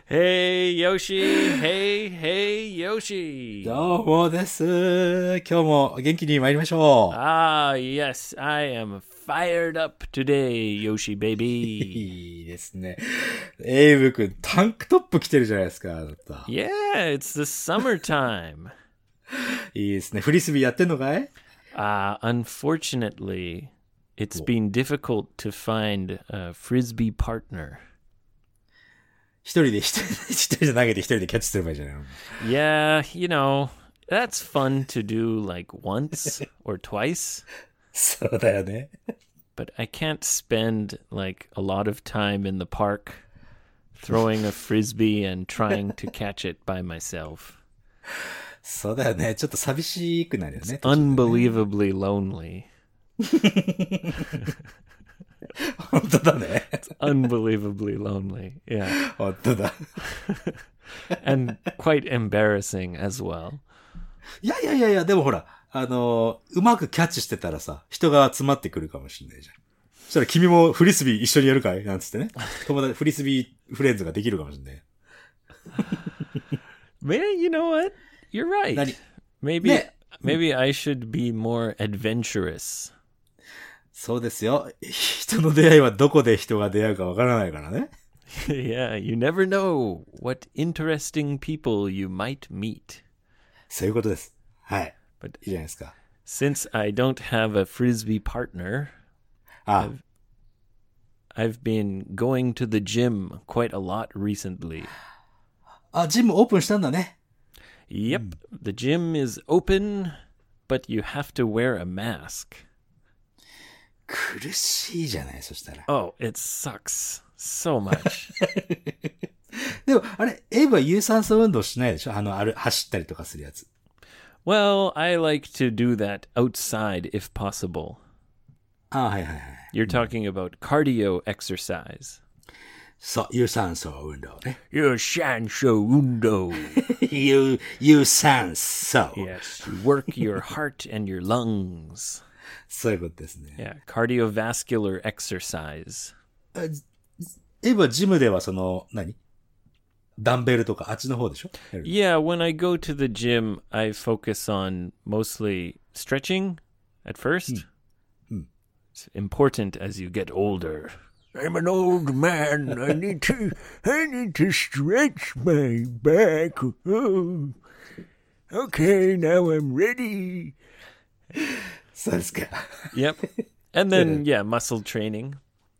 Hey, Yoshi. Hey, Yoshi. どうもです。今日も元気に参りましょう。 Ah, yes, I am fired up today, Yoshi baby. いいですね。エイブ君、タンクトップ着てるじゃないですか。あなた Yeah, it's the summertime. いいですね。フリスビーやってんのかい？ Unfortunately, it's been difficult to find a frisbee partner. 一人で投げて一人でキャッチすればいいじゃないの。 Yeah, that's fun to do like once or twice, そうだよね。 but I can't spend like a lot of time in the park throwing a frisbee and trying to catch it by myself. そうだよね。ちょっと寂しくなるよね。 Unbelievably lonely. 本当だね。 Unbelievably lonely. Yeah. 本当だ。 And quite embarrassing as well. いや、でもほら、うまくキャッチしてたらさ、人が集まってくるかもしれないじゃん。そしたら君もフリスビー一緒にやるかいなんつってね。フリスビーフレンズができるかもしれない。 Man, you know what? You're right. 何？ Maybe I should be more adventurous. そうですよ。人の出会いはどこで人が出会うかわからないからね。 Yeah, you never know what interesting people you might meet. そういうことです。はい。 But いいじゃないですか。 since I don't have a frisbee partner, あ、 I've been going to the gym quite a lot recently. ジムオープンしたんだね。 Yep, the gym is open, but you have to wear a mask. 苦しいじゃない、そしたら。 Oh, it sucks so much. でも、エイブは有酸素運動しないでしょ？走ったりとかするやつ。 Well, I like to do that outside if possible. はい。 You're talking about cardio exercise. そう、有酸素運動ね。 Your shansho undo. 有酸素。 Yes, you work your heart and your lungs. そういうことですね。 Yeah, cardiovascular exercise. エイブはジムではダンベルとかあっちの方でしょ？ Yeah, when I go to the gym, I focus on mostly stretching at first. It's important as you get older. I'm an old man. I need to stretch my back. Oh. Okay, now I'm ready. そうですか。 Yep. And then, yeah, muscle training.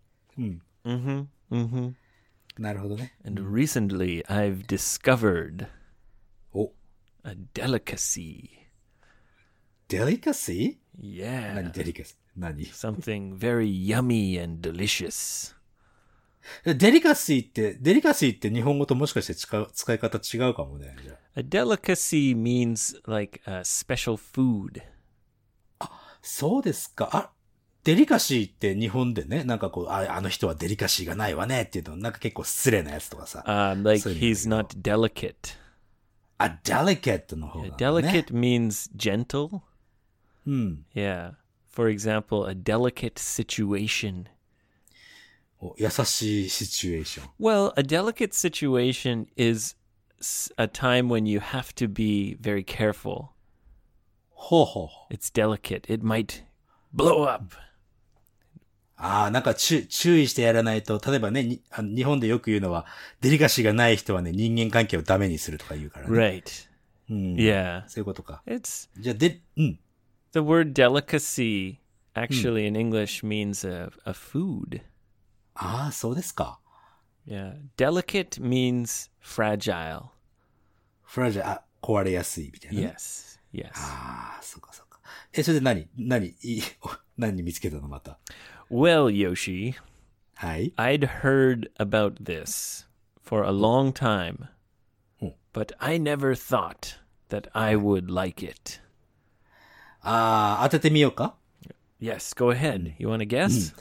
なるほどね。 And recently, I've discovered お、 a delicacy. デリカシー？ Yeah. 何デリカシー？何？ Something very yummy and delicious. デリカシーって日本語ともしかして使い方違うかもね。じゃあ A delicacy means like a special food. そうですか。デリカシーって日本でね、なんかこう、あの人はデリカシーがないわねっていうの、なんか結構失礼なやつとかさ。 Like そういうの he's not delicate. delicate の方がね。 Delicate means gentle. Yeah. For example, a delicate situation. 優しいシチュエーション。 Well, a delicate situation is a time when you have to be very careful. ほうほう。 It's delicate. It might blow up. なんか注意してやらないと、例えばね、日本でよく言うのは、デリカシーがない人はね、人間関係をダメにするとか言うからね。 Right. Yeah. そういうことか。 It's じゃあ、 the word delicacy actually in English means a food. そうですか。 Yeah. Delicate means fragile. フラジャー、壊れやすいみたいな、ね。 Yes. Yes. そうか。それで何見つけたのまた。 Well, Yoshi, はい。 I'd heard about this for a long time, but I never thought that I would like it. 当ててみようか？ Yes, go ahead. You want to guess?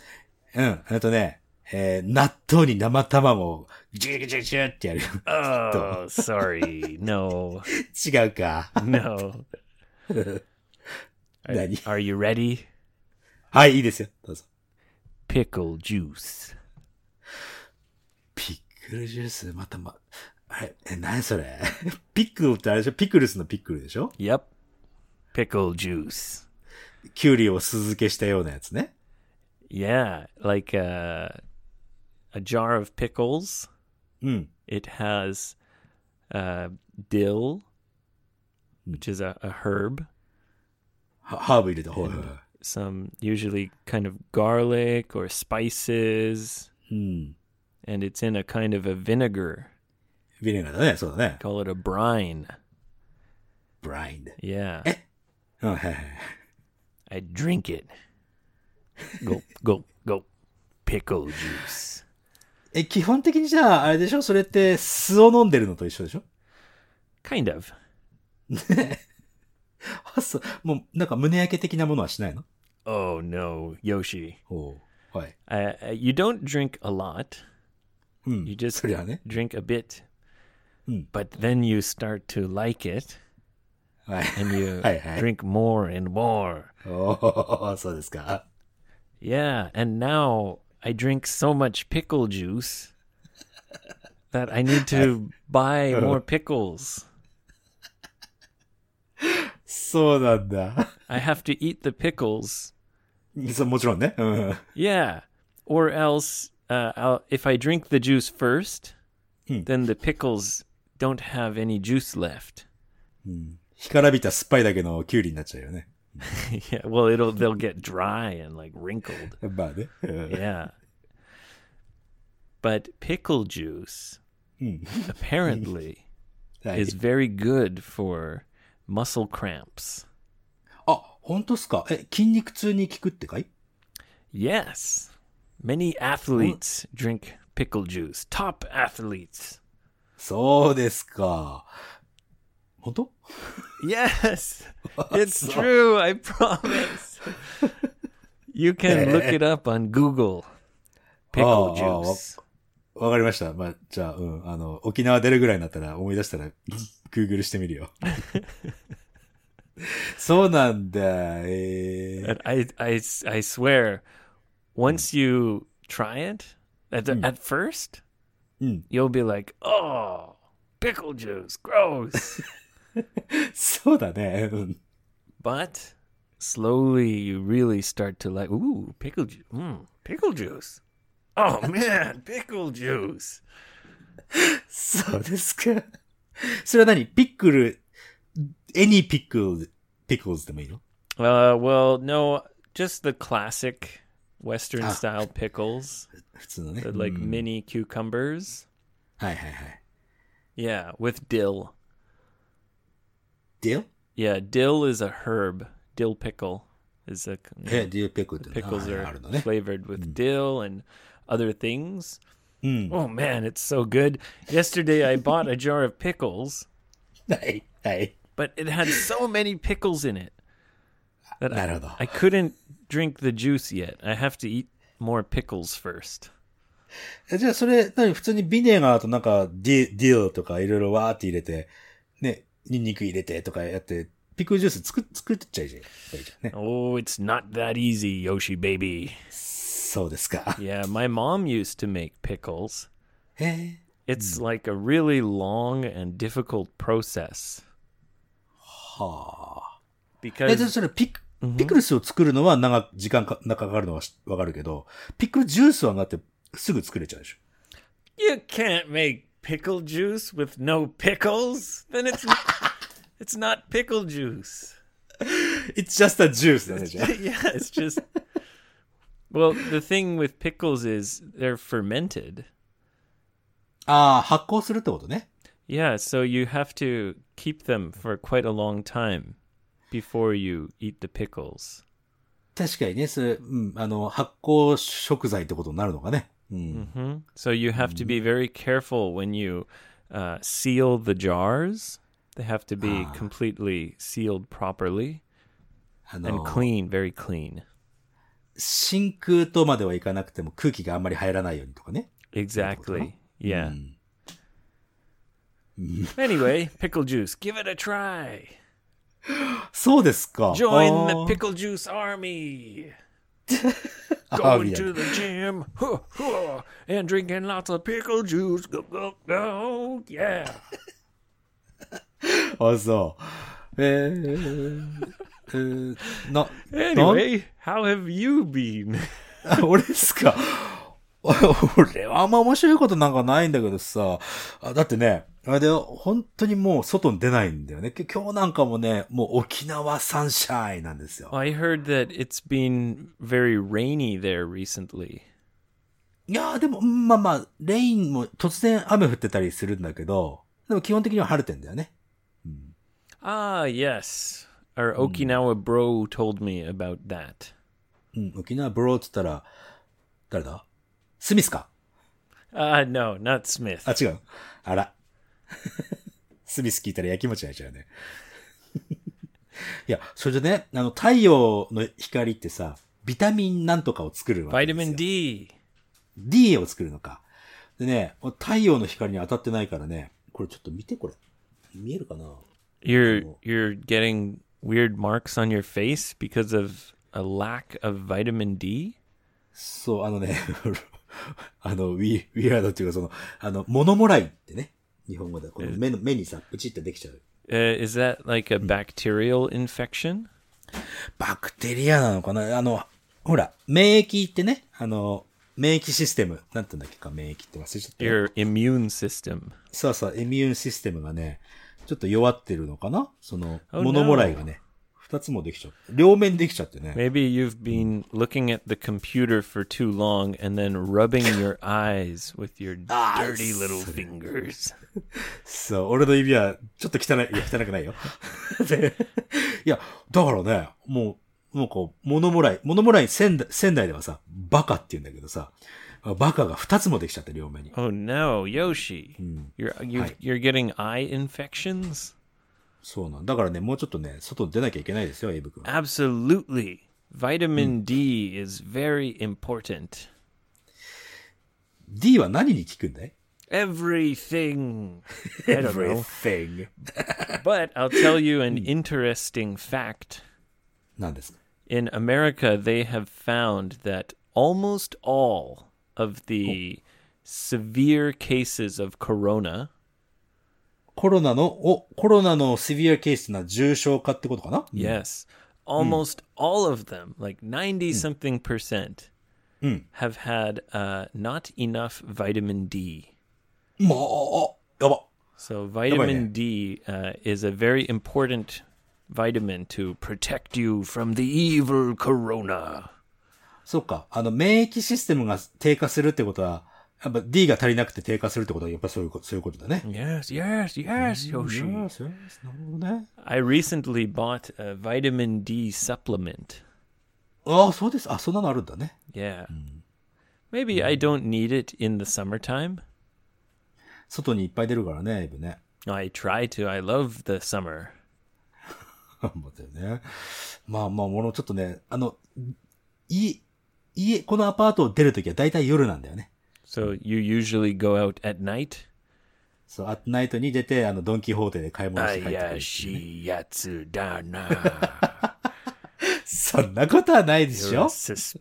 納豆に生卵をジュジュジュってやる。 Oh, sorry. No. 違うか。 No. 何？ Are you ready? はい、いいですよ。どうぞ。 Pickle juice. ピックルジュース、 何それピックルってあれでしょピクルスのピックルでしょ Yep. Pickle juice. キュウリを酢漬けしたようなやつね。 Yeah, like a jar of pickles. うん。 It has dill, which is a herb. ハーブ入れた方が。 Some usually kind of garlic or spices. うん。 And it's in a kind of a vinegar. ビネガーだね、そうだね。 Call it a brine. ブラインド。 Yeah. うん、はいはい。 I drink it. Go, go, go. Pickle juice. 基本的にじゃあ、あれでしょそれって酢を飲んでるのと一緒でしょ Kind of. そう。もう、なんか胸焼け的なものはしないの Oh no, Yoshi. おうはい。 You don't drink a lot. うん。 You just そりゃね。 drink a bit. うん。 But then you start to like it はい。 and you はいはい。 drink more and more. おー、そうですか。 Yeah, and now I drink so much pickle juice that I need to buy more pickles. そうなんだ。 I have to eat the pickles. そう、もちろんね。うん。 Yeah. Or else, if I drink the juice first, then the pickles don't have any juice left. 干からびた酸っぱいだけのキュウリになっちゃうよね。 Yeah, well, they'll get dry and like wrinkled. まあね。うん Yeah. But pickle juice apparently はい is very good for muscle cramps. あ、本当っすか筋肉痛に効くってかい Yes. Many athletes drink pickle juice. Top athletes. そうですか。本当 Yes. It's true. I promise. You can look it up on Google. Pickle juice. わかりました。まあ、じゃあ、沖縄出るぐらいになったら思い出したら、Google してみるよ。そうなんだ。 And I swear, once you try it, at first, you'll be like, oh, pickle juice, gross. そうだね。うん But slowly you really start to like, ooh, pickle juice. Pickle juice. Oh man, pickle juice. そうですか。それは何ピックル、any pickles でもいいの Well, no, just the classic Western style pickles, 普通のね。 the, like mini cucumbers. はいはいはい。 Yeah, with dill. Dill? Yeah, dill is a herb. Dill pickle is a dill pickle っての pickles あ are るのね。 flavored with dill and other things. Oh man, it's so good. Yesterday I bought a jar of pickles, はい。はい。 but it had so many pickles in it that なるほど。 I couldn't drink the juice yet. I have to eat more pickles first. じゃあそれ、普通にビネガーとなんかディルとかいろいろわーって入れて、ね、ニンニク入れてとかやって、ピクルジュース作っちゃいじゃん。ね。 Oh, it's not that easy, Yoshi baby. そうですか。 Yeah, my mom used to make pickles. へえ。 It's like a really long and difficult process はあ。じゃあ because それピクルスを作るのは時間かかるのはわかるけど、ピクルジュースはだってすぐ作れちゃうでしょ。 you can't make pickle juice with no pickles. Then it's not pickle juice. It's just a juice だね、じゃあ。 Yeah, it's just well, the thing with pickles is they're fermented. ああ、発酵するってことね。 Yeah, so you have to keep them for quite a long time before you eat the pickles. 確かにね、それ、発酵食材ってことになるのかね。 So you have to be very careful when you seal the jars. They have to be completely sealed properly and clean, very clean. 真空とまではいかなくても空気があんまり入らないようにとかね。 Exactly. Yeah. Anyway, pickle juice. Give it a try. そうですか。 Join the pickle juice army. Going to the gym, and drinking lots of pickle juice. Go, go, go, yeah. あ、そう。 Anyway, how have you been? 俺ですか。俺はあんま面白いことなんかないんだけどさ。だってね、あれで本当にもう外に出ないんだよね。今日なんかもね、もう沖縄サンシャインなんですよ。 I heard that it's been very rainy there recently. いやーでも、まあまあ、レインも突然雨降ってたりするんだけど、でも基本的には晴れてんだよね。 Ah, yes. Our Okinawa bro told me about that. 沖縄ブローって言ったら、誰だスミスか。 No, not Smith. 違う。あら。スミス聞いたら焼きもち焼いちゃうね。いや、それでね、太陽の光ってさ、ビタミンなんとかを作るわけですよ。 Vitamin D. D を作るのか。でね、太陽の光に当たってないからね、これちょっと見てこれ。見えるかな？ You're getting weird marks on your face because of a lack of vitamin D? そう、ウィアードっていうか物もらいってね。日本語で。この目にさ、プチってできちゃう。 Is that like a bacterial infection? バクテリアなのかな？ほら、免疫ってね、免疫システム。なんて言うんだっけか、免疫って忘れちゃったよ。 Your immune system. そうそう、イミューンシステムがね、ちょっと弱ってるのかな？ Oh, 物もらいがね、二つもできちゃう。両面できちゃってね。 Maybe you've been looking at the computer for too long and then rubbing your eyes with your dirty little fingers. そう、俺の指はちょっと汚くないよ。でいや、だからね、もうこう、物もらい仙台ではさ、バカって言うんだけどさ、バカが二つもできちゃって、両面に。 Oh no, Yoshi. You're getting eye infections? そうなんだからね、もうちょっとね、外に出なきゃいけないですよ、エイブ君。 Absolutely. Vitamin D is very important. D は何に効くんだい？ Everything. I don't know. Everything. But I'll tell you an interesting fact. 何ですか？ In America, they have found that almost all of the severe cases of corona, コロナのシビアケースな重症化ってことかな？ yes, almost all of them, like 90 something percent, have had not enough vitamin D. まあ、やば。 So vitamin D is a very important vitamin to protect you from the evil corona. そっか。免疫システムが低下するってことは、やっぱ D が足りなくて低下するってことは、やっぱそういうことだね。 Yes, Yoshi. なるほどね。 I recently bought a vitamin D supplement. ああ、そうです。あ、そんなのあるんだね。 Yeah. Maybe I don't need it in the summertime. 外にいっぱい出るからね、エイブね。 I try to. I love the summer. 思ったよね。まあ、ちょっとね、このアパートを出るときはだいたい夜なんだよね。 So you usually go out at night? そう、アットナイトに出て、ドンキホーテで買い物して帰ってくるっていうね、 Ayashi Yatsudana. そんなことはないでし You're a ょ？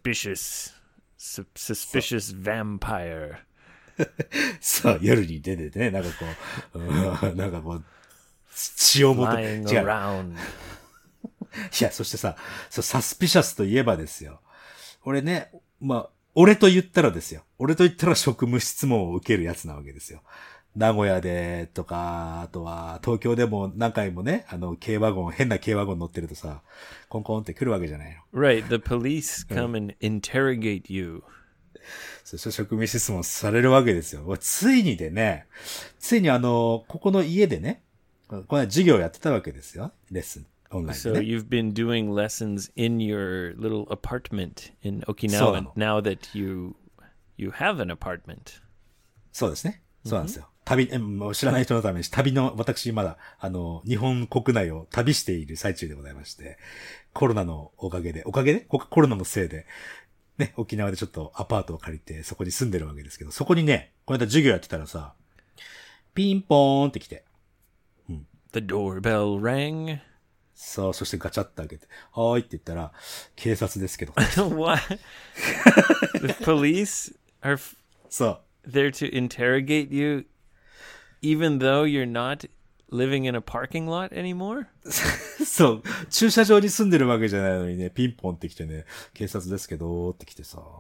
suspicious vampire. そう、夜に出ててね、なんかこう、血を持って、 Flying 違う。 around. いや、そしてさ、サスピシャスといえばですよ。俺ね、俺と言ったら職務質問を受けるやつなわけですよ。名古屋でとか、あとは東京でも何回もね、変な軽ワゴン乗ってるとさ、コンコンって来るわけじゃないの。 Right, the police come and interrogate you. そう、職務質問されるわけですよ。ついにここの家でね、この授業やってたわけですよ。レッスン。オンラインで So ね。 you've been doing lessons in your little apartment in Okinawa now that you have an apartment. そうですね。そうなんですよ。もう知らない人のために、私まだ、日本国内を旅している最中でございまして、コロナのおかげで、コロナのせいで、ね、沖縄でちょっとアパートを借りて、そこに住んでるわけですけど、そこにね、この間授業やってたらさ、ピンポーンって来て、 The doorbell rang. そう、そしてガチャッと開けて、はーいって言ったら、警察ですけど。 What? The police are そう。 there to interrogate you even though you're not living in a parking lot anymore? そう。駐車場に住んでるわけじゃないのにね、ピンポンって来てね、警察ですけど、って来てさ、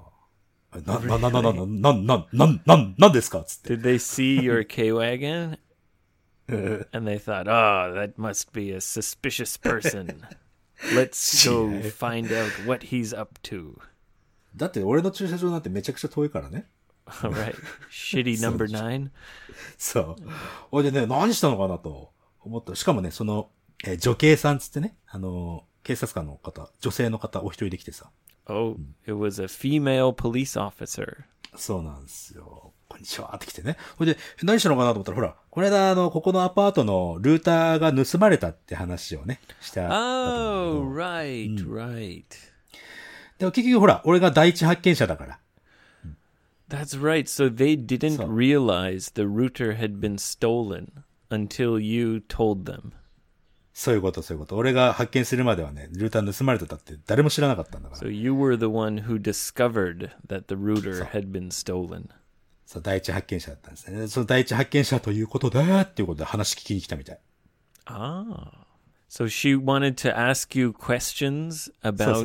なんですかつって。 Did they see your K-Wagon? And they thought, oh, that must be a suspicious person. Let's go find out what he's up to. だって俺の駐車場なんてめちゃくちゃ遠いからね。 All right. Shitty number 9. そう。ほいでね、何したのかなと思った。しかもね、その、女警さんつってね、警察官の方、女性の方お一人で来てさ。 Oh, it was a female police officer. そうなんですよ。こんにちはって来てね。ほいで、何したのかなと思ったら、ほら、この間ここのアパートのルーターが盗まれたって話をね、した。 Oh, right, right. でも結局ほら、俺が第一発見者だから。 That's right. So they didn't realize the router had been stolen until you told them. そういうこと。俺が発見するまではね、ルーター盗まれてたって誰も知らなかったんだから。 So you were the one who discovered that the router had been stolen. そう、第一発見者だったんですね。その第一発見者ということだっていうことで話聞きに来たみたい。 Ah. So she wanted to ask you questions about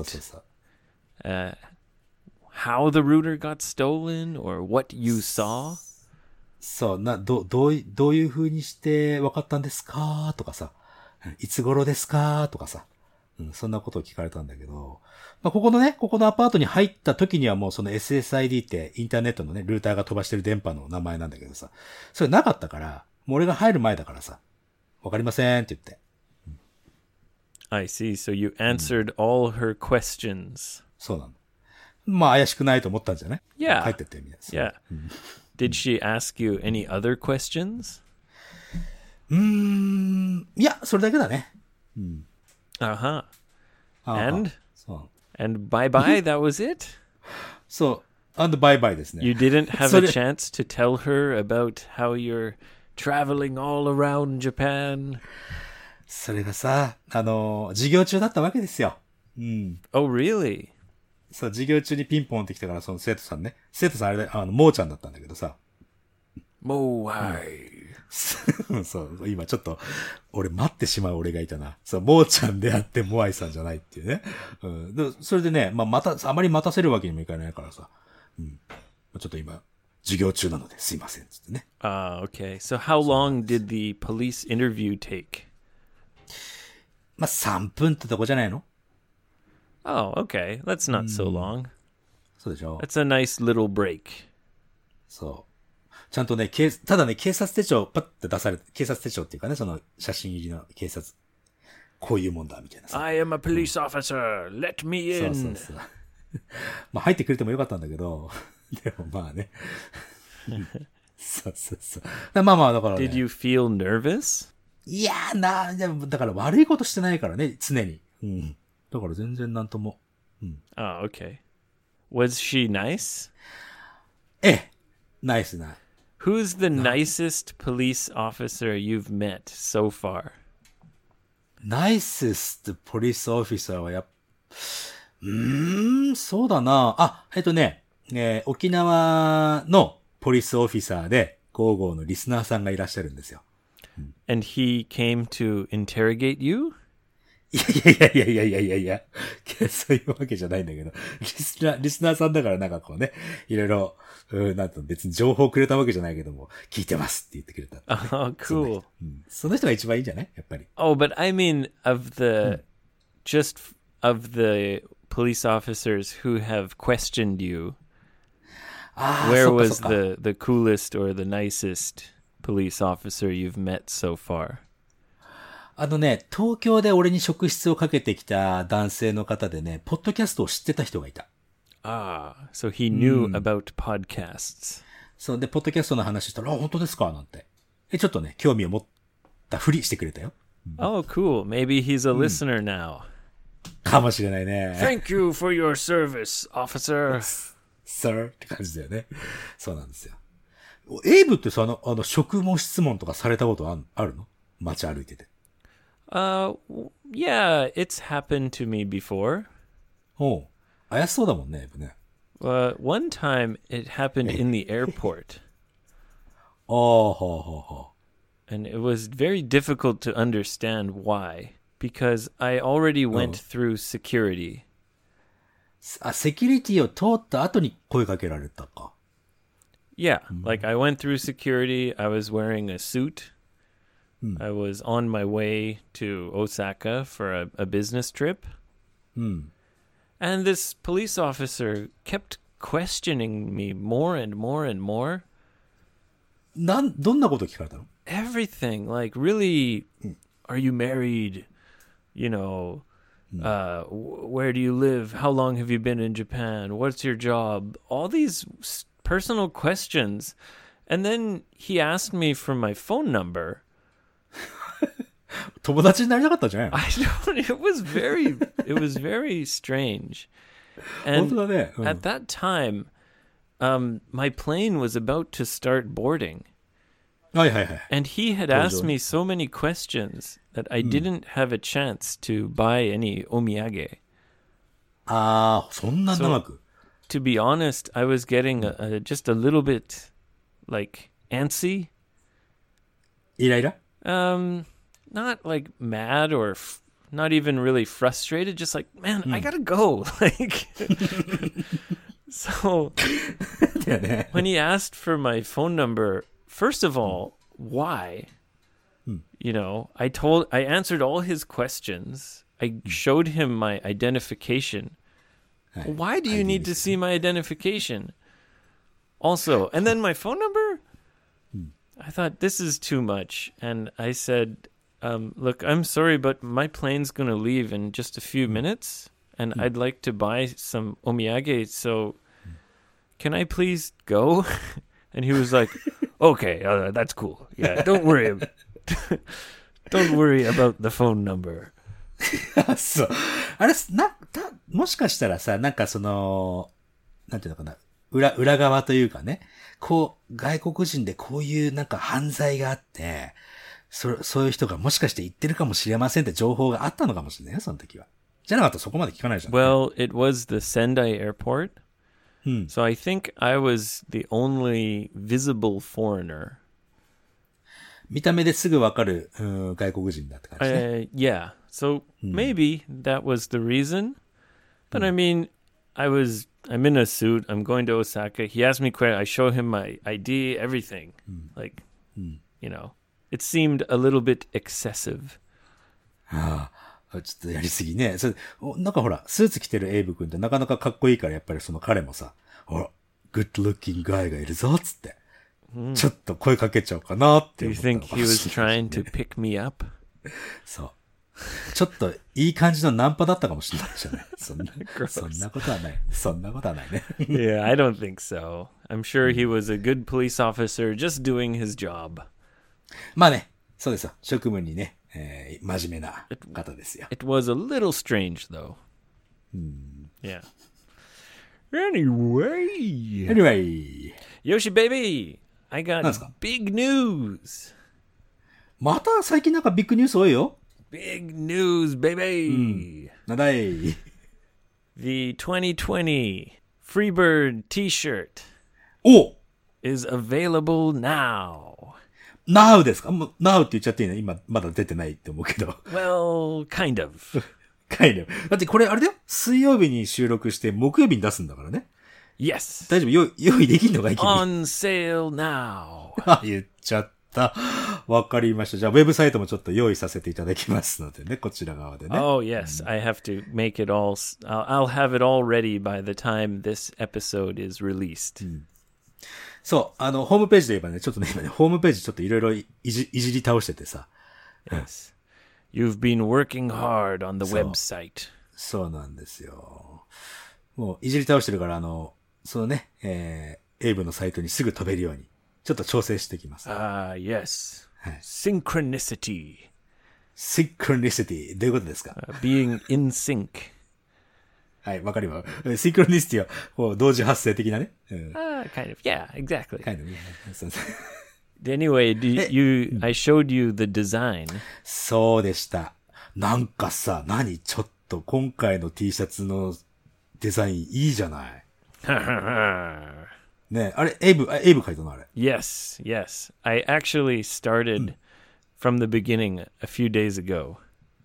how the router got stolen or what you saw? そう、どういう風にして分かったんですかとかさ、いつ頃ですかとかさ、そんなことを聞かれたんだけど、まあ、ここのアパートに入った時にはもうその SSID ってインターネットのね、ルーターが飛ばしてる電波の名前なんだけどさ、それなかったから、もう俺が入る前だからさ、わかりませんって言って。 I see. So you answered all her questions. そうなの。まあ怪しくないと思ったんじゃない？ Yeah. 帰ってってみたいな。Yeah. Did she ask you any other questions? いや、それだけだね。 Uh-huh. And? そう。 And bye-bye, that was it? そう。and bye-bye ですね。 You didn't have a chance to tell her about how you're traveling all around Japan? それがさ、授業中だったわけですよ。 Oh, really? そう、授業中にピンポンってきたから、その生徒さんね。生徒さんあれだ、もーちゃんだったんだけどさ。 もーはい。 そう、今ちょっと、俺待ってしまう俺がいたな。そう、もーちゃんであってモアイさんじゃないっていうね。でそれでね、まあ、あまり待たせるわけにもいかないからさ。ちょっと今、授業中なのですいません、つってね。 Okay. So how long did the police interview take? まあ、3分ってとこじゃないの？ Oh, okay. That's not so long. そうでしょ？ That's a nice little break. そう。ちゃんとね、ただね、警察手帳パッて出されて、警察手帳っていうかね、その写真入りの警察。こういうもんだ、みたいなさ。 I am a police officer. Let me in. そう。まあ入ってくれてもよかったんだけど、でもまあね。そう。まあだから、ね。 Did you feel nervous? いやーだから悪いことしてないからね、常に。だから全然なんとも。 Oh, okay. Was she nice? ナイスな。 Who's the nicest police officer you've met so far? ナイスストポリスオフィサーはそうだな。沖縄のポリスオフィサーで、55のリスナーさんがいらっしゃるんですよ。 And he came to interrogate you? いや。そういうわけじゃないんだけど、リスナーさんだからなんかこうね、いろいろ、なんと別に情報くれたわけじゃないけども、聞いてますって言ってくれた。 Oh, cool. その人が一番いいんじゃないやっぱり。 Oh, but I mean just of the police officers who have questioned you, where was the coolest or the nicest police officer you've met so far? 東京で俺に職質をかけてきた男性の方でね、ポッドキャストを知ってた人がいた。 So he knew about podcasts. そうで、ポッドキャストの話したら、本当ですかなんて。ちょっとね、興味を持ったふりしてくれたよ。 Oh, cool. Maybe he's a listener now. かもしれないね。 Thank you for your service, officer. Sir って感じだよね。そうなんですよ。エイブってさ、職務質問とかされたことあるの？街歩いてて。 Yeah, it's happened to me before. おう。怪しそうだもんね、エイブね。 One time it happened in the airport, ああ、はあ、はあ、は and it was very difficult to understand why, because I already went through security. あ。セキュリティを通った後に声かけられたか。 Yeah, like I went through security. I was wearing a suit. I was on my way to Osaka for a business trip. And this police officer kept questioning me more and more and more. どんなこと聞かれたの？ Everything, like really, are you married? You know, where do you live? How long have you been in Japan? What's your job? All these personal questions. And then he asked me for my phone number. 友達になりたかったんじゃないの？ I don't, it was very strange. 本当 And だね。うん at that time, my plane was about to start boarding. はいはいはい。 And he had asked me so many questions that I didn't have a chance to buy any omiyage. ああ、そんな長く。 To be honest, I was getting just a little bit, like, antsy. イライラ Not like mad or not even really frustrated. Just like, man, I gotta go. Like, so だよね。 when he asked for my phone number, first of all, why? You know, I answered all his questions. I showed him my identification. Why do you need to see my identification? Also, and then my phone number? I thought, this is too much. And I said, look, I'm sorry, but my plane's going to leave in just a few minutes. And I'd like to buy some omiyage. So can I please go? And he was like, okay, that's cool. Yeah, don't worry. Don't worry about the phone number. そう。あれ、もしかしたらさ、なんかその、なんていうのかな、裏側というかね、こう、外国人でこういうなんか犯罪があって、そういう人がもしかして言ってるかもしれませんって情報があったのかもしれないよ、その時は。じゃなかったらそこまで聞かないじゃん。 Well, it was the Sendai airport. So I think I was the only visible foreigner. 見た目ですぐわかる、外国人だって感じね。 Yeah. So maybe that was the reason. But I mean, I'm in a suit. I'm going to Osaka. He asked me questions. I show him my ID, everything. Like, you know, it seemed a little bit excessive. ああ、ちょっとやりすぎね。なんかほら、スーツ着てるエイブ君ってなかなかかっこいいから、やっぱりその彼もさ、ほら、グッドルッキングガイがいるぞ、つって。ちょっと声かけちゃおうかなって Do 思 you ったの think か he も was しれない trying to pick me up? そう。ちょっといい感じのナンパだったかもしれないじゃない。そんなことはない。そんなことはないね。 Yeah, I don't think so. I'm sure he was a good police officer just doing his job. まあね、そうですよ。職務にね、真面目な方ですよ。 It was a little strange, though. Yeah. Anyway. Anyway. Yoshi baby, I got 何ですか？ big news. また最近なんかビッグニュース多いよ。 Big news, baby. なんだい。 The 2020 Freebird t-shirt お is available now. Now ですか？もう Now って言っちゃっていいの？今まだ出てないって思うけど。 Well, kind of. だってこれあれだよ。水曜日に収録して木曜日に出すんだからね。 Yes. 大丈夫？用意できんのかい？君。 On sale now. あ、言っちゃった。わかりました。じゃあ、ウェブサイトもちょっと用意させていただきますのでね、こちら側でね。 Oh, yes. I have to make it all. I'll have it all ready by the time this episode is released. そう、ホームページで言えばね、ちょっとね、今ね、ホームページちょっといろいろいじり倒しててさ。 Yes. You've been working hard on the website. そうなんですよ。もう、いじり倒してるから、そのね、エイブのサイトにすぐ飛べるように、ちょっと調整してきます。 Yes. Synchronicity. Synchronicity。どういうことですか？ Being in sync. はい、わかります。シンクロニシティは、こう、同時発生的なね。 Kind of. Yeah, exactly. kind of, そうそう Anyway, I showed you the design. そうでした。 なんかさ、ちょっと今回の T シャツのデザインいいじゃない。ねあれ、エイブ書いたのあれ。 Yes, yes. I actually started from the beginning a few days ago.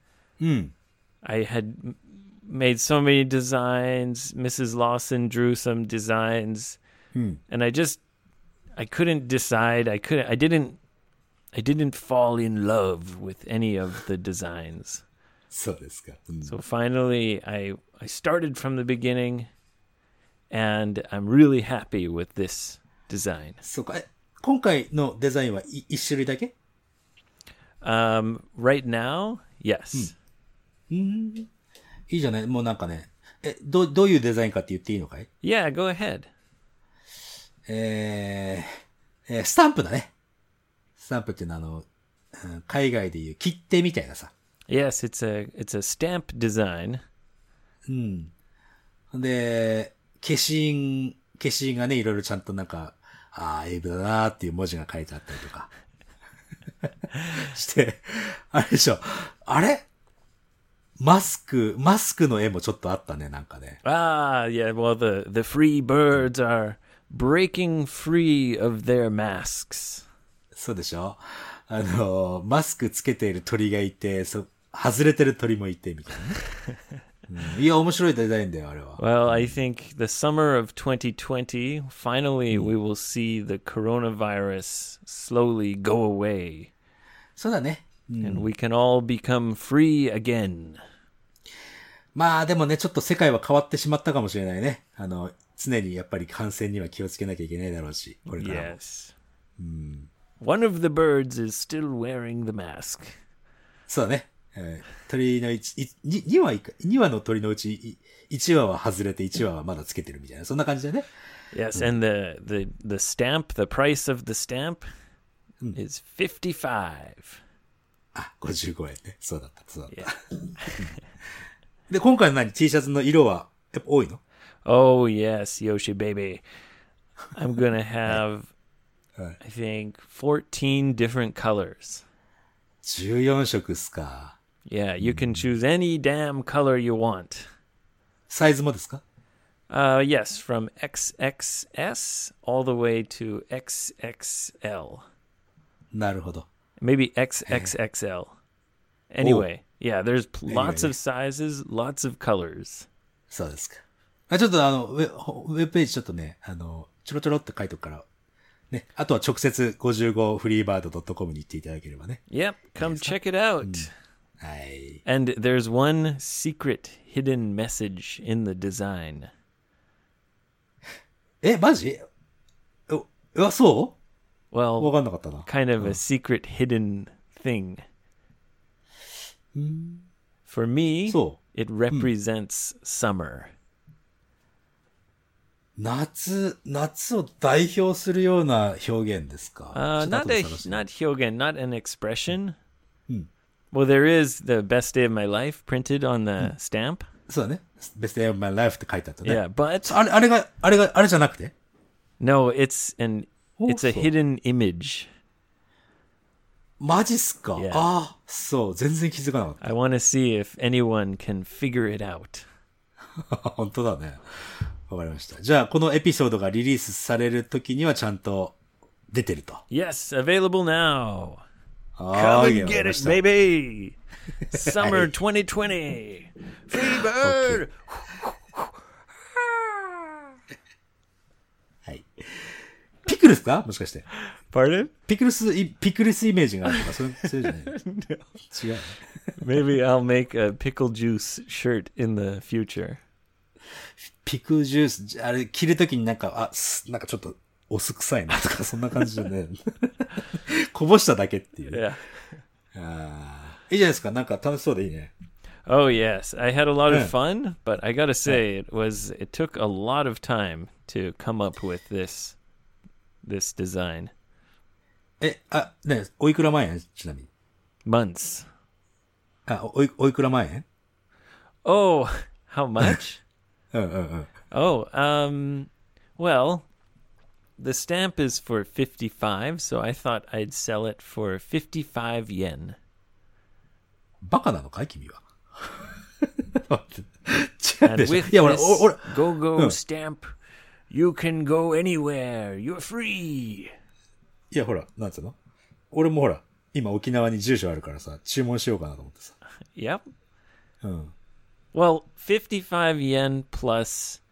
I had made so many designs. Mrs. Lawson drew some designs. And I couldn't decide. I didn't fall in love with any of the designs. そうですか。 So finally, I started from the beginning, and I'm really happy with this design. そうか。今回のデザインは一種類だけ？ Right now, yes. いいじゃない。もうなんかね。どういうデザインかって言っていいのかい？ Yeah, go ahead. スタンプだね。スタンプっていうのは海外でいう切手みたいなさ。 Yes, it's a stamp design. で、消印がね、いろいろちゃんとなんか、エイブだなーっていう文字が書いてあったりとか。して、あれでしょ。あれマスクの絵もちょっとあったね、なんかね。 Yeah, well, the free birds are breaking free of their masks. そうでしょ。マスクつけている鳥がいて、外れてる鳥もいて、みたいなね。いや、面白いデザインだよ、あれは。 Well, I think the summer of 2020, finally we will see the coronavirus slowly go away. そうだね。 And we can all become free again. まあでもね、ちょっと世界は変わってしまったかもしれないね。常にやっぱり感染には気をつけなきゃいけないだろうし、これからも。 Yes. One of the birds is still wearing the mask. そうだね。鳥の2羽の鳥のうち1羽は外れて1羽はまだつけてるみたいな。そんな感じだね。 Yes, and the stamp, the price of the stamp is 55. 55円ね。そうだった。 Yeah. で、今回のT シャツの色はやっぱ多いの？ Oh, yes, Yoshi baby. I'm going to have, I think, 14 different colors. 14色っすか。 Yeah, you can choose any damn color you want. サイズもですか？ Yes, from XXS all the way to XXL. なるほど。 Maybe XXXL. Anyway, yeah, there's lots of sizes, lots of colors. そうですか。ちょっとウェブページちょっとね、ちょろちょろって書いとくから、ね。あとは直接55freebird.com に行っていただければね。 Yep, come check it out. はい。 And there's one secret hidden message in the design. マジ？そう？ Well, わかんなかったな。 kind of a secret hidden thing. For me, it represents summer. 夏を代表するような表現ですか？ Not hyogen, not an expression. Well, there is the best day of my life printed on the stamp. そうだね。Best day of my life って書いてあったね。 Yeah, but あれじゃなくて？ No, it's a hidden image. マジっすか？ Yeah. そう、全然気づかなかった。 I want to see if anyone can figure it out. 本当だね。わかりました。じゃあ、このエピソードがリリースされる時にはちゃんと出てると。 Yes, available now. Come and get it, baby. Summer 2020. Free bird. はい。ピクルスか？もしかして。 Pardon? ピクルスイメージがあるとか、そういうじゃない？ 違う。 Maybe I'll make a pickle juice shirt in the future. ピクジュース、あれ着るときになんかちょっとお酢臭いなとか、そんな感じでね。こぼしただけっていう。 Yeah. いいじゃないですか。なんか楽しそうでいいね。 Oh, yes. I had a lot of fun, but I gotta say, it took a lot of time to come up with this design. おいくら万円ちなみに。 Months. おいくら万円？ Oh, how much? Oh, well, the stamp is for 55, so I thought I'd sell it for 55 yen. バカなのかい君は。違う And でしょ。 with いや、俺、 this go-go stamp, you can go anywhere. You're free. いや、ほら、なんつうの？俺もほら、今沖縄に住所あるからさ、注文しようかなと思ってさ。 Yep. うん。 Well, 55 yen plus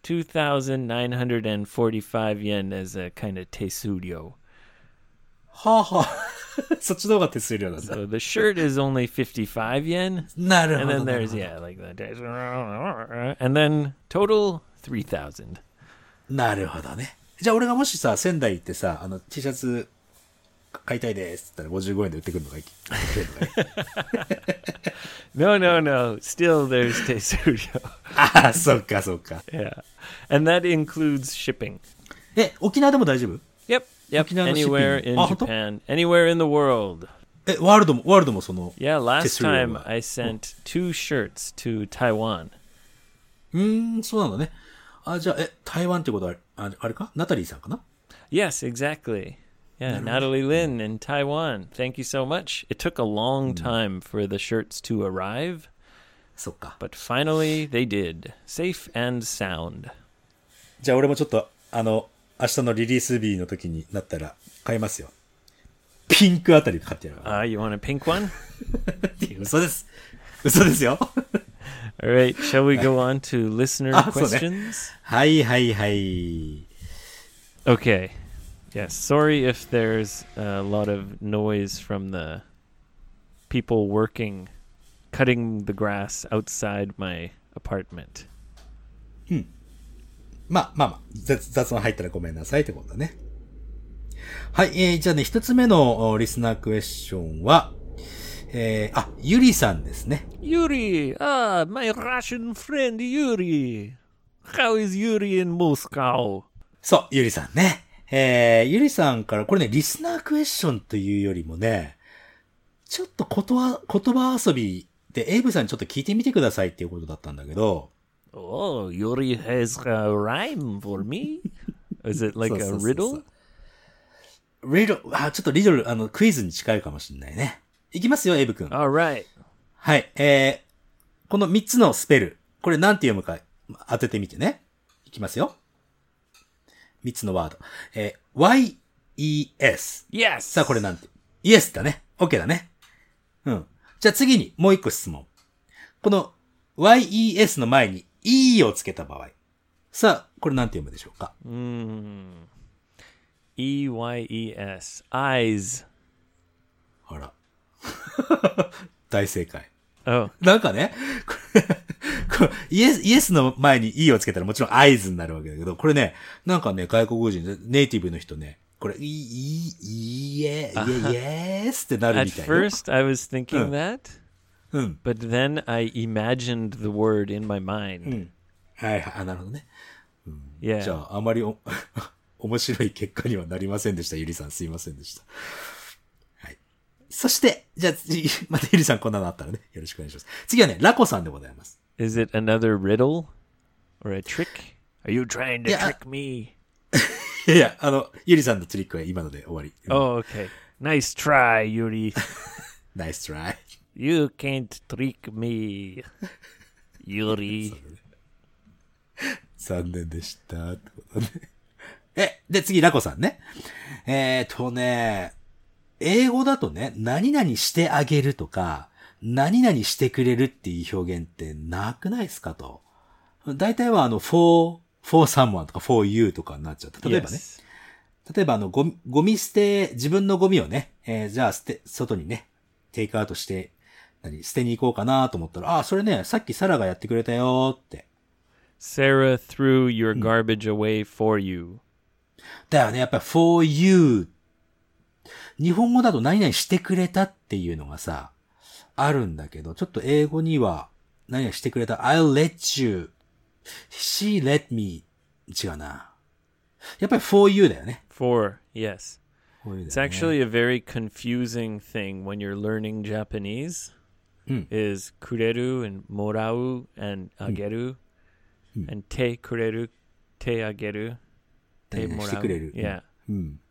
2,945 yen as a kind of tesurio. はあはあ。そっちの方が手数料なんだ。 So the shirt is only 55 yen. なるほ And ど。 then なる there's, ほど yeah, like that. And then total 3,000. なるほどね。じゃあ俺がもしさ、仙台行ってさ、T シャツ買いたいですって言ったら55円で売ってくるのがいい。 No. Still there's tesurio. ああ、そっかそっか。 Yeah. And that includes shipping. 沖縄でも大丈夫？ Yep. Okinawa Anywhere shipping. in Japan. Anywhere in the world. ワールドもその。 Yeah, last Tesurio time I sent 2 shirts to Taiwan. そうなんだね。あ、じゃあ、台湾ってことは、あれか？ナタリーさんかな？ Yes, exactly. Yeah, Natalie Lin in Taiwan. Thank you so much. It took a long time for the shirts to arrive, そっか。 but finally they did. Safe and sound. じゃあ俺もちょっと、明日のリリース日の時になったら買いますよ。ピンクあたり買ってやるわ。 You want a pink one? 嘘です。嘘ですよ。 All right, shall we go on to listener そうね。 questions? はいはいはい。 Okay. Yes, sorry if there's a lot of noise from the people working, cutting the grass outside my apartment. まあ、雑音入ったらごめんなさいってことだね。はい、じゃあね、一つ目のリスナークエスチョンは、ゆりさんですね。 Yuri! My Russian friend Yuri! How is Yuri in Moscow? そう、ゆりさんね。ゆりさんから、これね、リスナークエスチョンというよりもね、ちょっと言葉遊びで、エイブさんにちょっと聞いてみてくださいっていうことだったんだけど、 Oh, Yuri has a rhyme for me? Is it like a riddle? ちょっとリドル、クイズに近いかもしれないね。いきますよ、エイブ君。 All right. はい、この3つのスペル、これなんて読むか当ててみてね。いきますよ。3つのワード。Y-E-S。 Yes! さあ、これなんて。イエスだね。OK だね。うん。じゃあ次にもう一個質問。この Y-E-S の前に E をつけた場合。さあ、これなんて読むでしょうか？ E-Y-E-S. Eyes. ほら。大正解。 Oh. なんかね、これイエスの前に E をつけたらもちろんアイズになるわけだけど、これね、なんかね、外国人、ネイティブの人ね、これ、イエスってなる At みたいな。 first, I was thinking that, うん。 but then I imagined the word in my mind. はいはい、なるほどね。じ Yeah. ゃあ、あまり面白い結果にはなりませんでした。ゆりさん、すいませんでした。はい。そして、じゃあ、またゆりさんこんなのあったらね、よろしくお願いします。次はね、ラコさんでございます。 Is it another riddle or a trick? Are you trying to Yeah. trick me? いや、ゆりさんのトリックは今ので終わり。 Oh, okay. Nice try, Yuri. ナイストライ。 You can't trick me, Yuri. 残念でした。ってことね。で、次、ラコさんね。英語だとね、何々してあげるとか、何々してくれるっていう表現ってなくないですかと。大体はfor someone とか for you とかになっちゃった。例えばね。 Yes. 例えばゴミ捨て、自分のゴミをね、じゃあ外にね、テイクアウトして、捨てに行こうかなと思ったら、それね、さっきサラがやってくれたよって。 Sarah threw your garbage away for you. だよね、やっぱり for you。日本語だと何々してくれたっていうのがさ、あるんだけど、ちょっと英語には何々してくれた。I'll let you.She let me. 違うな。やっぱり for you だよね。 For, yes. for you It's だよね actually a very confusing thing when you're learning Japanese. Is kureru and morau and ageru and te kureru, te ageru, te してくれる。 morau. Yeah.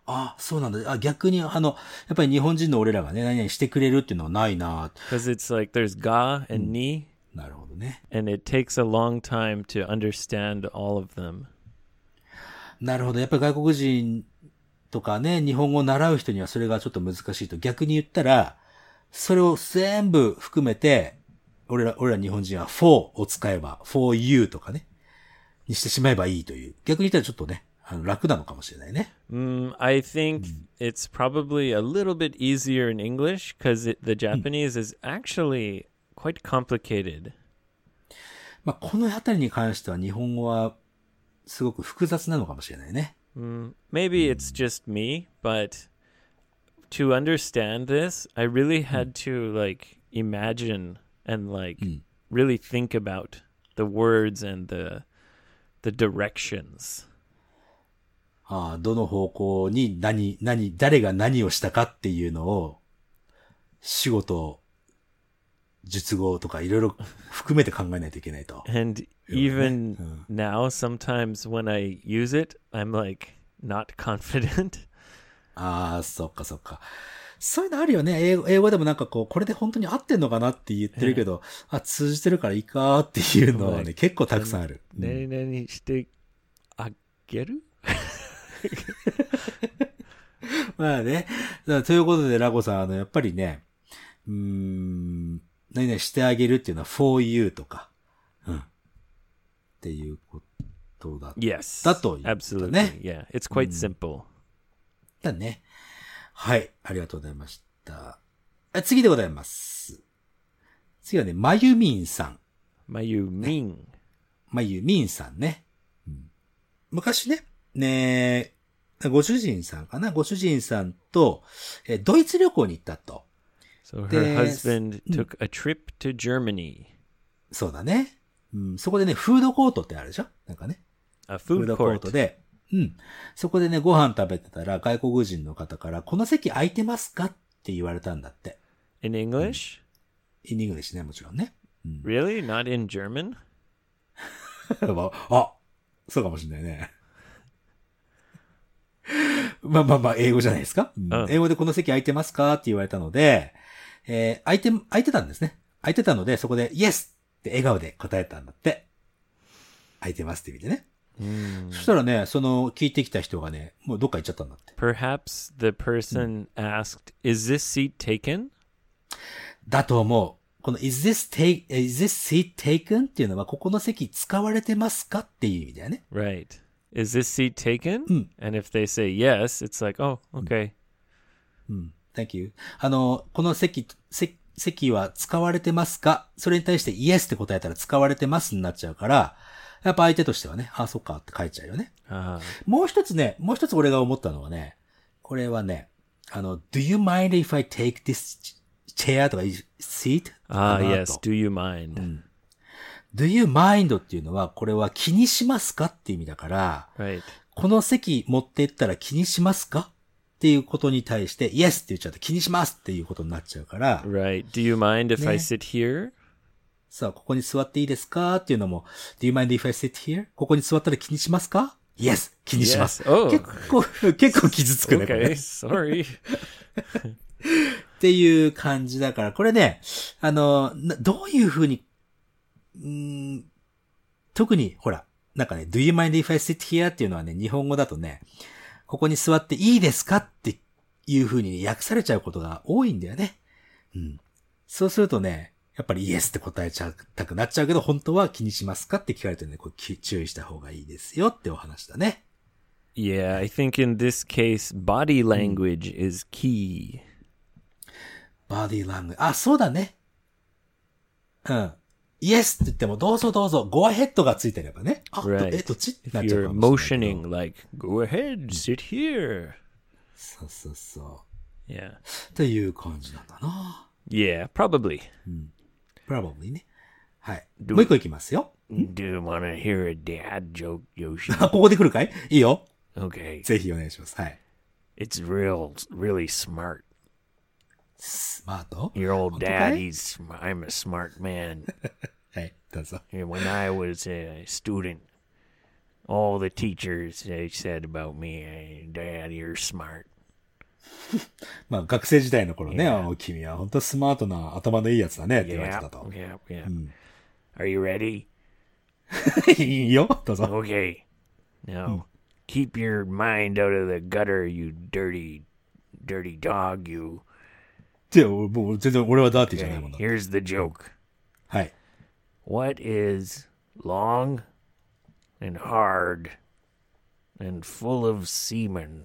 あ、そうなんだ。あ、逆に、やっぱり日本人の俺らがね、何々してくれるっていうのはないな。 Because it's like there's ga and ni, なるほどね。 and it takes a long time to understand all of them. なるほど。やっぱり外国人とかね、日本語を習う人にはそれがちょっと難しいと。逆に言ったら、それを全部含めて、俺ら日本人は for を使えば、for you とかね、にしてしまえばいいという。逆に言ったらちょっとね、楽なのかもしれないね。 I think it's probably a little bit easier in English because the Japanese is actually quite complicated. まあ、このあたりに関しては日本語はすごく複雑なのかもしれないね。 Maybe it's just me, but to understand this, I really had to like imagine and like really think about the words and the directions. ああ、どの方向に誰が何をしたかっていうのを、仕事、術語とかいろいろ含めて考えないといけないと。 And even now, sometimes when I use it, I'm like not confident. ああ、そっかそっか。そういうのあるよね。英語でもなんかこう、これで本当に合ってんのかなって言ってるけど、あ、通じてるからいいかっていうのはね、結構たくさんある。 何々してあげるまあね。ということで、ラゴさん、やっぱりね、何々してあげるっていうのは for you とか、っていうことだった Yes, ということ absolutely. ね。 Yeah, it's quite simple. だね。はい、ありがとうございました。次でございます。次はね、まゆみんさん。 まゆみん。 まゆみんさんね。昔ね、ご主人さんかなご主人さんと、ドイツ旅行に行ったと。 So her husband took a trip to Germany. そうだね。そこでね、フードコートってあるでしょなんかね。 A フー food ドコート court. で、そこでね、ご飯食べてたら外国人の方から、この席空いてますかって言われたんだって。 In English? in English ね、もちろんね。 Really? Not in German? あ、そうかもしれないね。まあ、英語じゃないですか、英語でこの席空いてますかって言われたので、空いてたんですね。空いてたので、そこで、イエスって笑顔で答えたんだって。空いてますって意味でね。そしたらね、聞いてきた人がね、もうどっか行っちゃったんだって。 Perhaps the person asked, Is this seat taken? だと思う。この is this seat taken? っていうのは、ここの席使われてますかっていう意味だよね。 Right. Is this seat taken? And if they say yes, it's like, oh, okay. Thank you. この席は使われてますかそれに対して yes って答えたら使われてますになっちゃうから、やっぱ相手としてはね、あ、そっかって書いちゃうよね。もう一つ俺が思ったのはね、これはね、do you mind if I take this chair とか seat? Yes, do you mind? Do you mind っていうのは、これは気にしますかっていう意味だから、 Right. この席持ってったら気にしますかっていうことに対して、Yes って言っちゃって気にしますっていうことになっちゃうから、 Right. Do you mind if I sit here? さあ、ここに座っていいですかっていうのも、Do you mind if I sit here? ここに座ったら気にしますか ?Yes! 気にします。 Yes. Oh. 結構傷つくね。これ Okay, sorry. っていう感じだから、これね、どういうふうに特に、ほら、なんかね、do you mind if I sit here? っていうのはね、日本語だとね、ここに座っていいですかっていう風に訳されちゃうことが多いんだよね。そうするとね、やっぱり yes って答えちゃったくなっちゃうけど、本当は気にしますかって聞かれてね、こう注意した方がいいですよってお話だね。 Yeah, I think in this case, body language is key. body language. あ、そうだね。Yes って言っても、どうぞどうぞ、go ahead がついてればね。 Right. どっち If なっちゃう you're かもしれないけ motioning ど like, go ahead, sit here. そう。 Yeah. っていう感じなんだな。 Yeah, probably. probably ね。はい。もう一個いきますよ。 Do you want to hear a dad joke, Yoshi? ここで来るかいいいよ。 Okay. ぜひお願いします。はい。 It's really smart. スマート Your old 本当か dad, い I'm a smart man. はい、どうぞ。 And when I was a student, all the teachers they said about me, Dad, you're smart. まあ学生時代の頃ね、君は本当スマートな頭のいいやつだねって言われて Yeah, たと。 yeah. Are you ready? いいよ、どうぞ。 Okay. Now, keep your mind out of the gutter, you dirty dog, you. で、もう全然俺はダーティーじゃないもん Okay, だ。 here's the joke. はい。 What is long and hard and full of semen?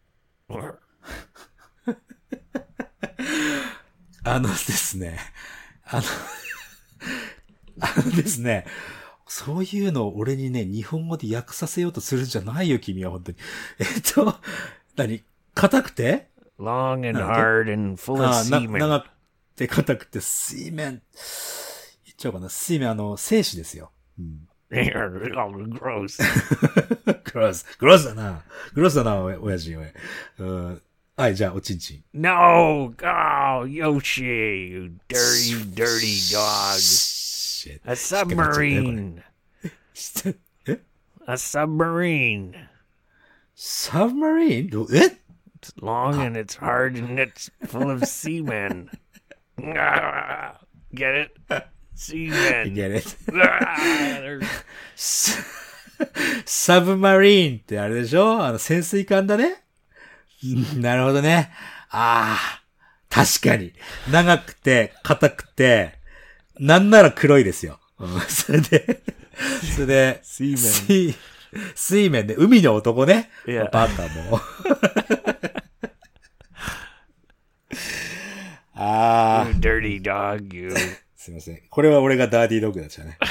ですね。ですね。そういうのを俺にね、日本語で訳させようとするんじゃないよ、君は、本当に。硬くて Long and hard and full of 長 semen. くて硬くて、水面。言っちゃおうかな。水面、精子ですよ。 Gross. グロスだな。親父、おい。はい、じゃあ、おちんちん。 No! Oh, Yoshi, you dirty dog. Shit. A submarine. え A submarine. サブマリン It's long and it's hard and it's full of semen. Ah, get it? Semen. Get it? Ah, サブマリンってあれでしょ潜水艦だねなるほどね。確かに。長くて、硬くて、なんなら黒いですよ。それで、水面で、海の男ね。 Yeah. バカも。 you dirty dog, you. すいません。これは俺がダーディードッグだったね。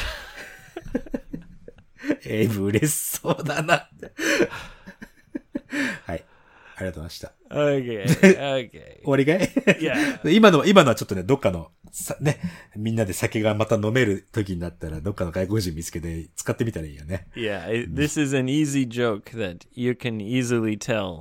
エイブ嬉しそうだなって。はい。ありがとうございました。 Okay. 終わりかい Yeah. 今のはちょっとね、どっかの、ね、みんなで酒がまた飲める時になったら、どっかの外国人見つけて使ってみたらいいよね。 Yeah, this is an easy joke that you can easily tell.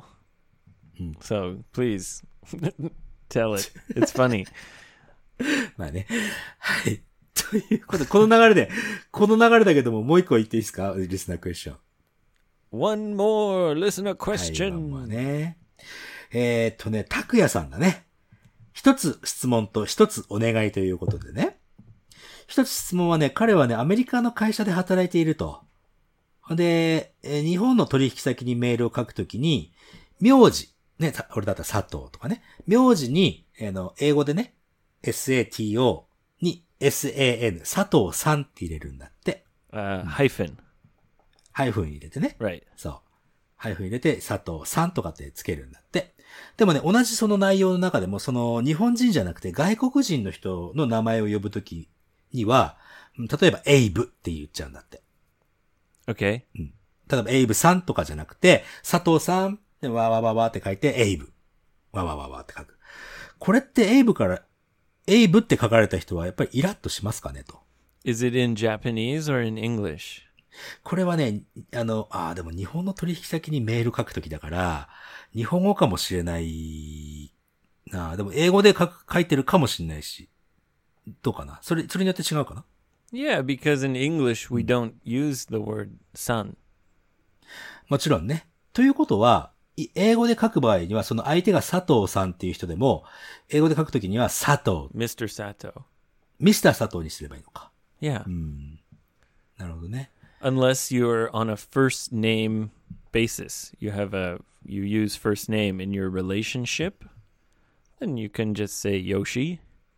So please tell it. It's funny. まあね。はい。ということで、この流れだけども、もう一個言っていいですかリスナークエスチョン。 One more listener はい、 question. まあね。拓也さんがね、一つ質問と一つお願いということでね。一つ質問はね、彼はね、アメリカの会社で働いていると。で、日本の取引先にメールを書くときに、名字、ね、俺だったら佐藤とかね、名字に、英語でね、SATO に SAN、佐藤さんって入れるんだって。 Hyphen. ハイフン入れてね。 Right. そう。ハイフン入れて、佐藤さんとかってつけるんだって。でもね、同じその内容の中でも、その日本人じゃなくて外国人の人の名前を呼ぶときには、例えばエイブって言っちゃうんだって。 Okay. 例えばエイブさんとかじゃなくて、佐藤さん、でわわわわって書いて、エイブ。わわわわって書く。これってエイブって書かれた人はやっぱりイラッとしますかねと。 Is it in Japanese or in English? これはね、でも日本の取引先にメール書くときだから、日本語かもしれないな。でも英語で書いてるかもしれないし。どうかなそれによって違うかな Yeah, because in English we don't use the word son. もちろんね。ということは、英語で書く場合には、その相手が佐藤さんっていう人でも、英語で書くときには佐藤。 Mr. Sato. ミスター佐藤にすればいいのか。 Yeah. なるほどね。 Unless you're on a first name basis. You use first name in your relationship, then you can just say Yoshi.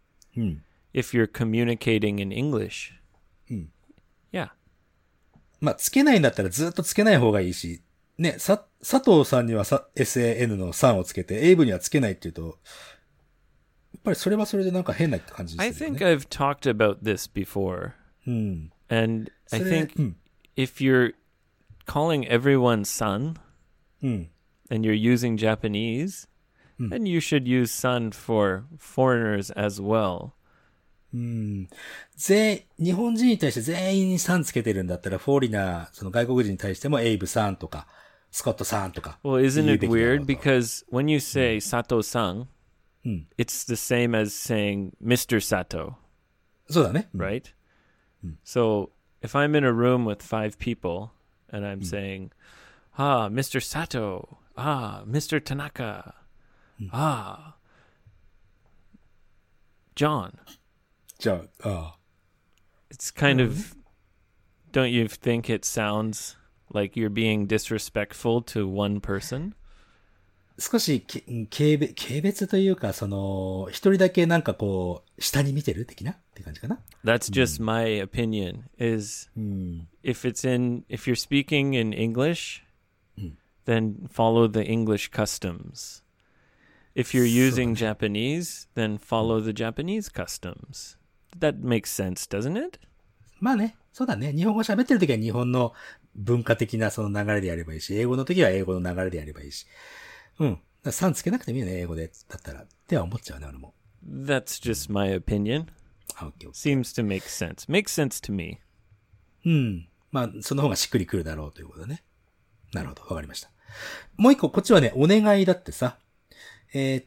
If you're communicating in English. Yeah. まあ、つけないんだったらずっとつけない方がいいし、ね、佐藤さんにはSAN の3をつけて、エイブにはつけないっていうと、やっぱりそれはそれでなんか変な感じですよね。 I think I've talked about this before. And I think if you're calling everyone son, and you're using Japanese, then you should use son for foreigners as well. 日本人に対して全員にさんつけてるんだったら、フォーリナー、その外国人に対してもエイブさんとか、スコットさんとか。 Well, isn't it weird? Because when you say Sato-san, it's the same as saying Mr. Sato. そうだね。 Right? So if I'm in a room with 5 people and I'm saying, ah, Mr. Sato, ah, Mr. Tanaka, ah, John. じゃあ、ああ。 It's kind of, don't you think it sounds like you're being disrespectful to one person? 少し軽蔑というか、その、一人だけなんかこう、下に見てる的なって感じかな。 That's just my opinion, is if you're speaking in English, then follow the English customs. If you're using Japanese, then follow the Japanese customs. That makes sense, doesn't it? まあね、そうだね。日本語喋ってるときは日本の文化的なその流れでやればいいし、英語のときは英語の流れでやればいいし。うん。だからさんつけなくてもいいよね、英語で。だったら。っては思っちゃうね、俺も。 That's just my opinion. あ、オッケーオッケー。 Seems to make sense. Makes sense to me. うん。まあ、その方がしっくりくるだろうということだね。なるほど、わかりました。もう一個、こっちはね、お願いだってさ。 A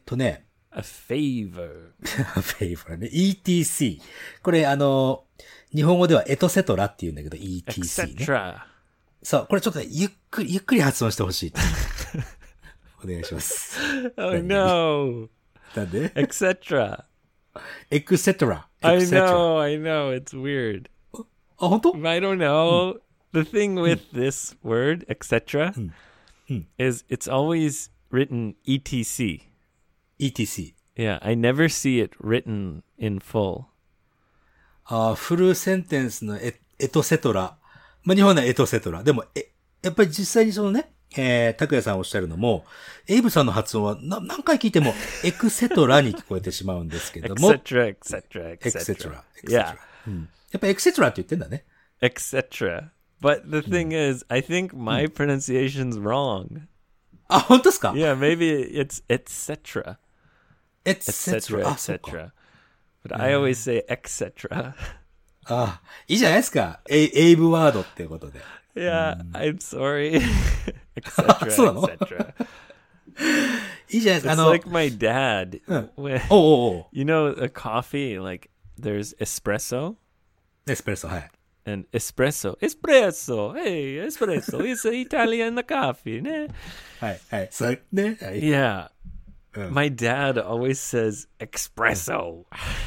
favor. favor ね。ETC。これ、日本語ではエトセトラって言うんだけど、ETC ね。 Etc. そう、これちょっとね、ゆっくり発音してほしい。お願いします。 Oh no. なんで Etc. エクセトラ。 I know. It's weird. あ、本当 I don't know. The thing with this word, etc., is it's always written ETC. ETC。 Yeah, I never see it written in full. あ、フルセンテンスのエトセトラ。まあ、日本ではエトセトラ。でも、やっぱり実際にそのね、拓也さんおっしゃるのも、エイブさんの発音は何回聞いても、エクセトラに聞こえてしまうんですけども。 Etc. エクセトラ。 Yeah. やっぱエクセトラって言ってんだね。 Etc. But the thing is, I think my pronunciation's wrong. あ、本当ですか Yeah, maybe it's etc. エクセト etc. ラ。あ、そうか。 etc. But I always say etc. あ、いいじゃないですか。エイブワードっていうことで。 Yeah, I'm sorry. etc. そうなの etc. いいじゃないです It's か。 like my dad. When, おう。 you know, a coffee, like there's espresso エスプレッソ、はい。 and espresso. Hey, espresso. It's an Italian coffee, ne? はい。そうね。はい。 Yeah. My dad always says espresso.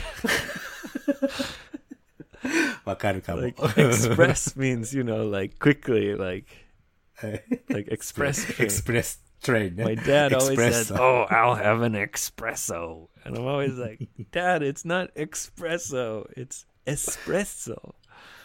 わかるかも。 Like express means, you know, like quickly, like express train. エクスプレストレインね。 My dad always says, Espresso. "Oh, I'll have an espresso," and I'm always like, "Dad, it's not espresso, it's espresso."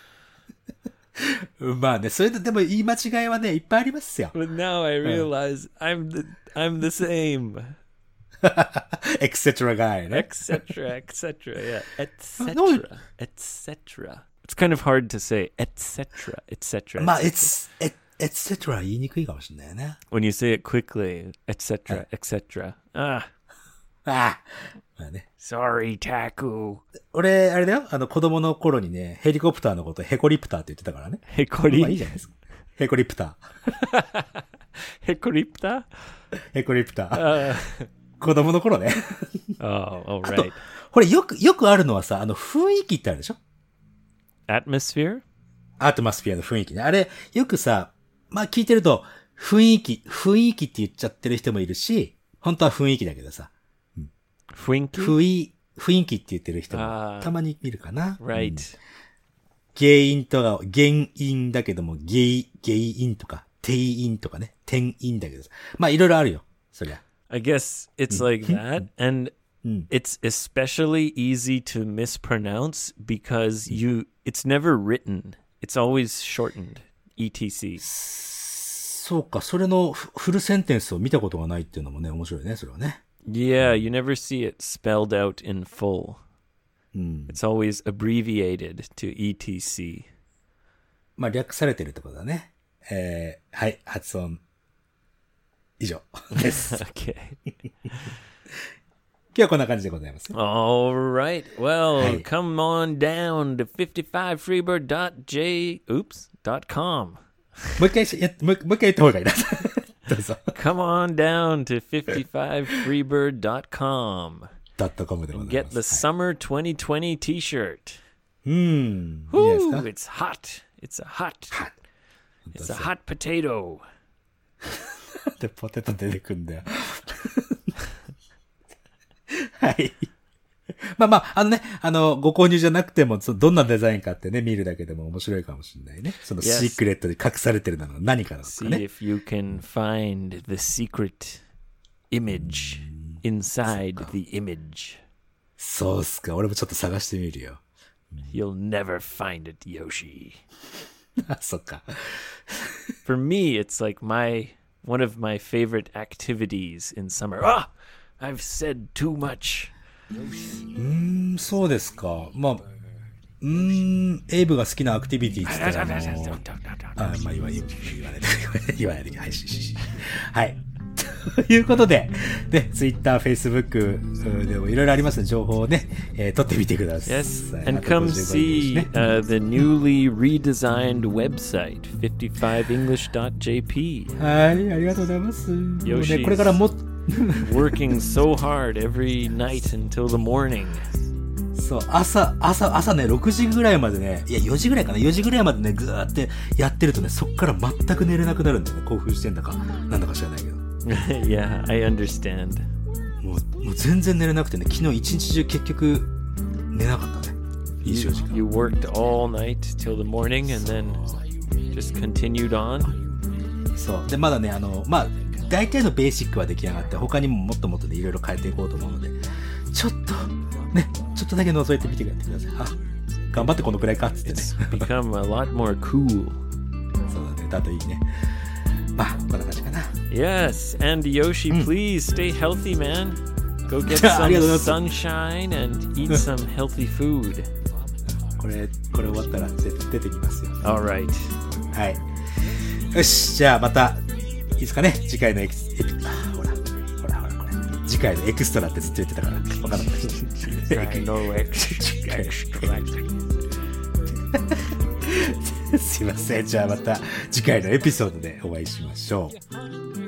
まあね、それででも言い間違いはね、いっぱいありますよ。 But now I realize I'm the same. エクセトラガイね。 Etc. Yeah. No. Etc. It's kind of hard to say. Etc. Etc. まあ、エクセトラ言いにくいかもしれないよね。 When you say it quickly, etc. Etc. Ah, ああ。まあね。 sorry, Taku. 俺、あれだよ。子供の頃にね、ヘリコプターのことヘコリプターって言ってたからね。まあいい Hekoripta? じゃないですか。ヘコリプター。 Hekoripta? ヘコリプター。子供の頃ね。 Oh, all あと right. これよくあるのはさ、雰囲気ってあるでしょ Atmosphere? アートマスフィアの雰囲気ね。あれ、よくさ、まあ聞いてると、雰囲気って言っちゃってる人もいるし、本当は雰囲気だけどさ、 Fwinky? 雰囲気って言ってる人もあーたまに見るかな。 Right. 原因だけども、原因とか、定因とかね、転因だけどさ。まあいろいろあるよ。そりゃ。 I guess it's like that. And it's especially easy to mispronounce because it's never written. It's always shortened. ETC. そうか、それのフルセンテンスを見たことがないっていうのもね、面白いね、それはね。 Yeah, you never see it spelled out in full. It's always abbreviated to ETC. まあ略されてるってことだね。はい、発音。以上です。 Okay. 今日はこんな感じでございます。 All right. Well, Hey. come on down to 55freebird.com. もう一回言った方がいいな。どうぞ。 Come on down to 55freebird.com. .com でござい Get ま the す。 summer 2020 t-shirt. いいです Woo, か it's hot. It's a hot. It's a hot potato. で、ポテト出てくんだよ。はい。まあ、ご購入じゃなくても、どんなデザインかってね、見るだけでも面白いかもしれないね。そのシークレットで隠されてるのは何かなのかね。 See if you can find the secret image inside the image. そうっすか。俺もちょっと探してみるよ。 You'll never find it, Yoshi. あ、そっか。 For me, it's like one of my favorite activities in summer. Ah! I've said too much. そうですか。まあ、エイブが好きなアクティビティって言ったらまあ、言わないで。はい、はい。ということで、ね、Twitter、Facebook でもいろいろありますので、情報をね、取ってみてください。 Yes, and come see the newly redesigned website, 55english.jp. はい、ありがとうございます。 Yoshi、 これからも working so hard every night until the morning. そう、朝ね、6時ぐらいまでね、いや、4時ぐらいかな、4時ぐらいまでね、ぐーってやってるとね、そっから全く寝れなくなるんだよね。興奮してんだか、なんだか知らないけど。 Yeah, I understand. もう全然寝れなくてね、昨日一日中結局寝なかったね。24時間。 You worked all night till the morning and then just continued on? そう。で、まだね、まあ、大体のベーシックは出来上がって、他にももっともっとね、いろいろ変えていこうと思うので、ちょっとだけ覗いてみてください。あ、頑張ってこのくらいかっつってね。 It's become a lot more cool. そうだね、だといいね。まあ、こんな感じかな。 Yes, and Yoshi, please stay healthy, man. Go get some sunshine and eat some healthy food. これ終わったら出てきますよ。 All right. はい。よし、じゃあまた、いいですかね。次回のほら、これ。次回のエクストラってずっと言ってたから、わかんなかった。 No extra. すいません。じゃあまた次回のエピソードでお会いしましょう。